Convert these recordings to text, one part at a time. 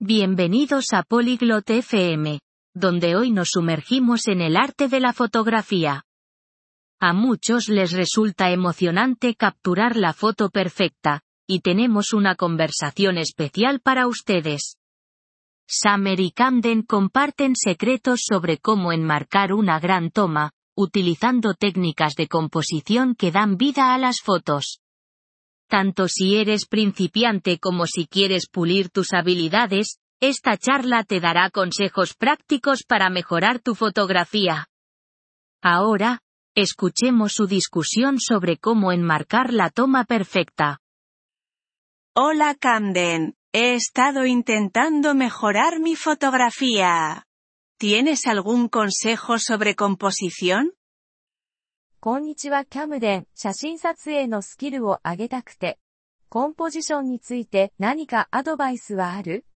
Bienvenidos a Polyglot FM, donde hoy nos sumergimos en el arte de la fotografía. A muchos les resulta emocionante capturar la foto perfecta, y tenemos una conversación especial para ustedes. Summer y Camden comparten secretos sobre cómo enmarcar una gran toma, utilizando técnicas de composición que dan vida a las fotos. Tanto si eres principiante como si quieres pulir tus habilidades, esta charla te dará consejos prácticos para mejorar tu fotografía. Ahora, escuchemos su discusión sobre cómo enmarcar la toma perfecta. Hola Camden, he estado intentando mejorar mi fotografía. ¿Tienes algún consejo sobre composición? こんにちはキャムデン、写真撮影のスキルを上げたくて。コンポジションについて何かアドバイスはある？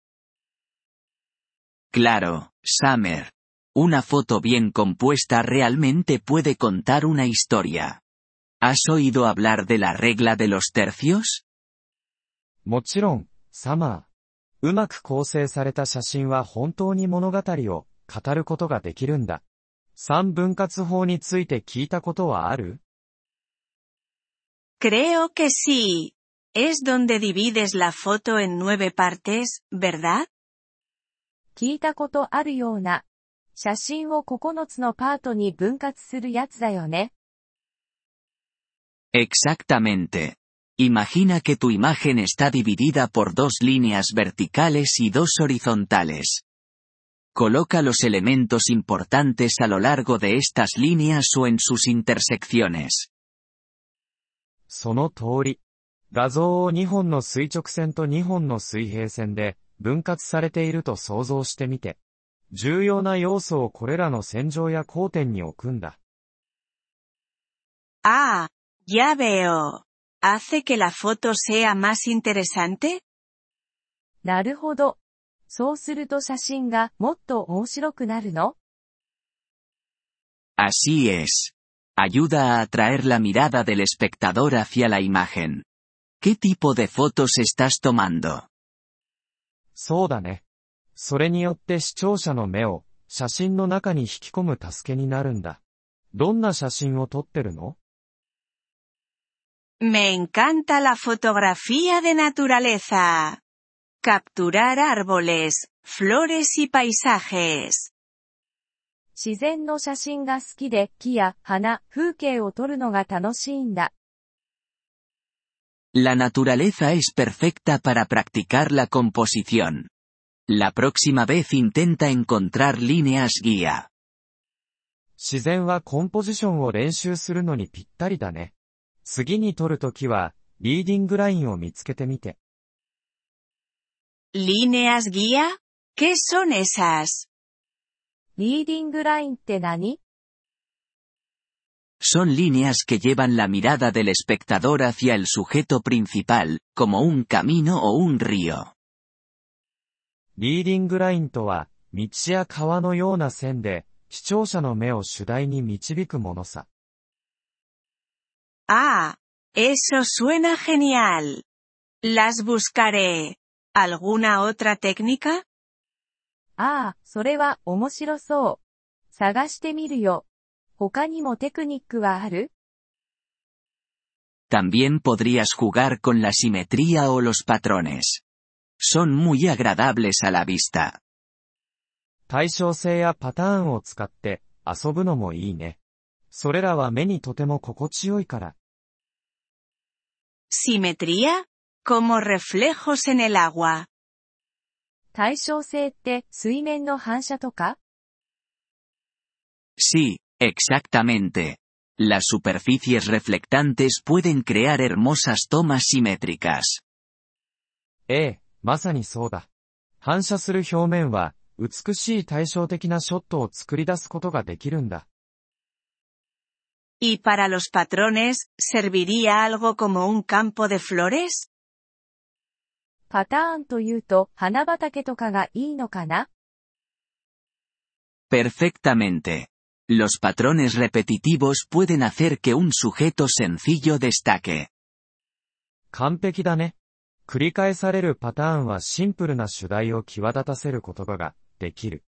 Claro, Summer. Una foto bien compuesta realmente puede contar una historia. ¿Has oído hablar de la regla de los tercios? もちろん、サマー。うまく構成された写真は本当に物語を語ることができるんだ。三分割法について聞いたことはある？ Creo que sí. Es donde divides la foto en 9 partes, ¿verdad? 聞いたことあるような。写真を9つのパートに分割するやつだよね。 Exactamente. Imagina que tu imagen está dividida por 2 líneas verticales y 2 horizontales. Coloca los elementos importantes a lo largo de estas líneas o en sus intersecciones. その通り。画像を2本の垂直線と2本の水平線で分割されていると想像してみて。重要な要素をこれらの線上や交点に置くんだ。 Ah, ya veo. ¿Hace que la foto sea más interesante? なるほど。そうすると写真がもっと面白くなるの？ Así es. Ayuda a atraer la mirada del espectador hacia la imagen. ¿Qué tipo de fotos estás tomando? そうだね。それによって視聴者の目を写真の中に引き込む助けになるんだ。どんな写真を撮ってるの？ Me encanta la fotografía de naturaleza. Capturar árboles, flores y paisajes. 自然の写真が好きで木や花、風景を撮るのが楽しいんだ。 La naturaleza es perfecta para practicar la composición. La próxima vez intenta encontrar líneas guía. 自然はコンポジションを練習するのにぴったりだね。次に撮るときは、リーディングラインを見つけてみて。 ¿Líneas guía? ¿Qué son esas? リーディングラインって何？ Son líneas que llevan la mirada del espectador hacia el sujeto principal, como un camino o un río. リーディングラインとは、道や川のような線で、視聴者の目を主題に導くものさ。 Ah, eso suena genial. Las buscaré. ¿Alguna otra técnica? ああ、それは面白そう。探してみるよ。他にもテクニックはある？ También podrías jugar con la simetría o los patrones. Son muy agradables a la vista. 対称性やパターンを使って遊ぶのもいいね。それらは目にとても心地よいから。 ¿Simetría? Como reflejos en el agua. 対称性って水面の反射とか？ Sí, exactamente. Las superficies reflectantes pueden crear hermosas tomas simétricas. ええ、まさにそうだ。反射する表面は、美しい対照的なショットを作り出すことができるんだ。 ¿Y para los patrones, serviría algo como un campo de flores? パターンというと花畑とかがいいのかな？ Perfectamente. Los patrones repetitivos pueden hacer que un sujeto sencillo destaque. 完璧だね。 繰り返されるパターンはシンプルな主題を際立たせることができる。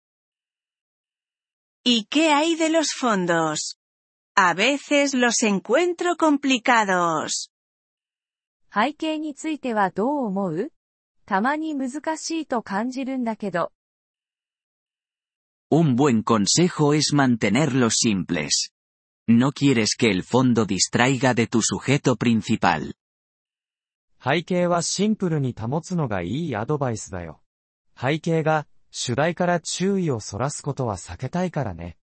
¿Y qué hay de los fondos? A veces los encuentro complicados. 背景についてはどう思う？たまに難しいと感じるんだけど。 Un buen consejo es mantenerlos simples. No quieres que el fondo distraiga de tu sujeto principal. 背景はシンプルに保つのがいいアドバイスだよ。背景が主題から注意をそらすことは避けたいからね。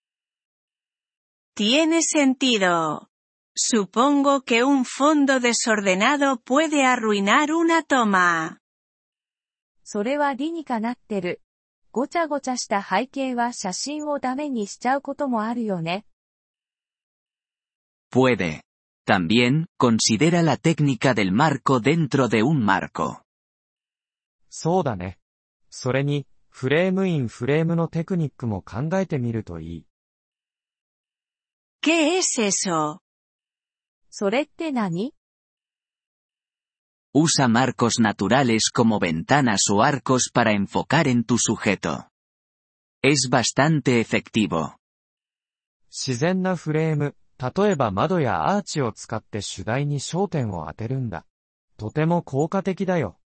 Tiene sentido. Supongo que un fondo desordenado puede arruinar una toma. それは理にかなってる。ごちゃごちゃした背景は写真をダメにしちゃうこともあるよね。 Puede. También, considera la técnica del marco dentro de un marco. そうだね。それに、フレームインフレームのテクニックも考えてみるといい。 ¿Qué es eso? それって何？ Usa marcos naturales como ventanas o arcos para enfocar en tu sujeto. Es bastante efectivo. 自然なフレーム、例えば窓やアーチを使って主題に焦点を当てるんだ。とても効果的だよ。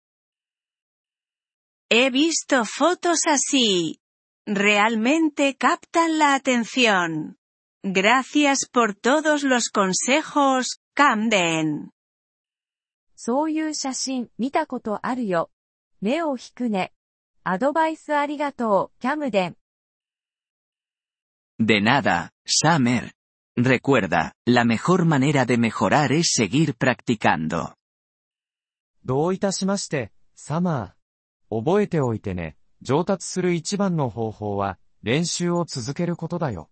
He visto fotos así. Realmente captan la atención. Gracias por todos los consejos, Camden. そういう写真見たことあるよ。目を引くね。アドバイスありがとう、キャムデン。 De nada, Summer. Recuerda, la mejor manera de mejorar es seguir practicando. どういたしまして、サマー。覚えておいてね。上達する一番の方法は、練習を続けることだよ。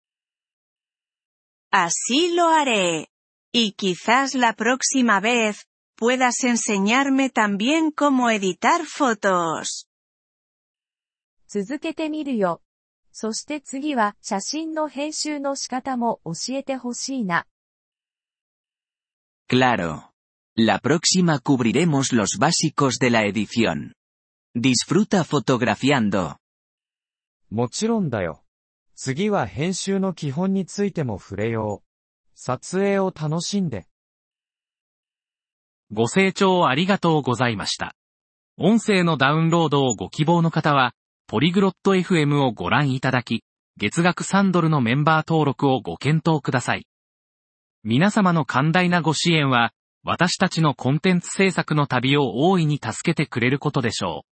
Así lo haré. Y quizás la próxima vez, puedas enseñarme también cómo editar fotos. 続けてみるよ。そして次は写真の編集の仕方も教えてほしいな。 Claro. La próxima cubriremos los básicos de la edición. Disfruta fotografiando. もちろんだよ。次は編集の基本についても触れよう。撮影を楽しんで。 ご清聴ありがとうございました。音声のダウンロードをご希望の方は、ポリグロット FM をご覧いただき、月額3ドルのメンバー登録をご検討ください。皆様の寛大なご支援は、私たちのコンテンツ制作の旅を大いに助けてくれることでしょう。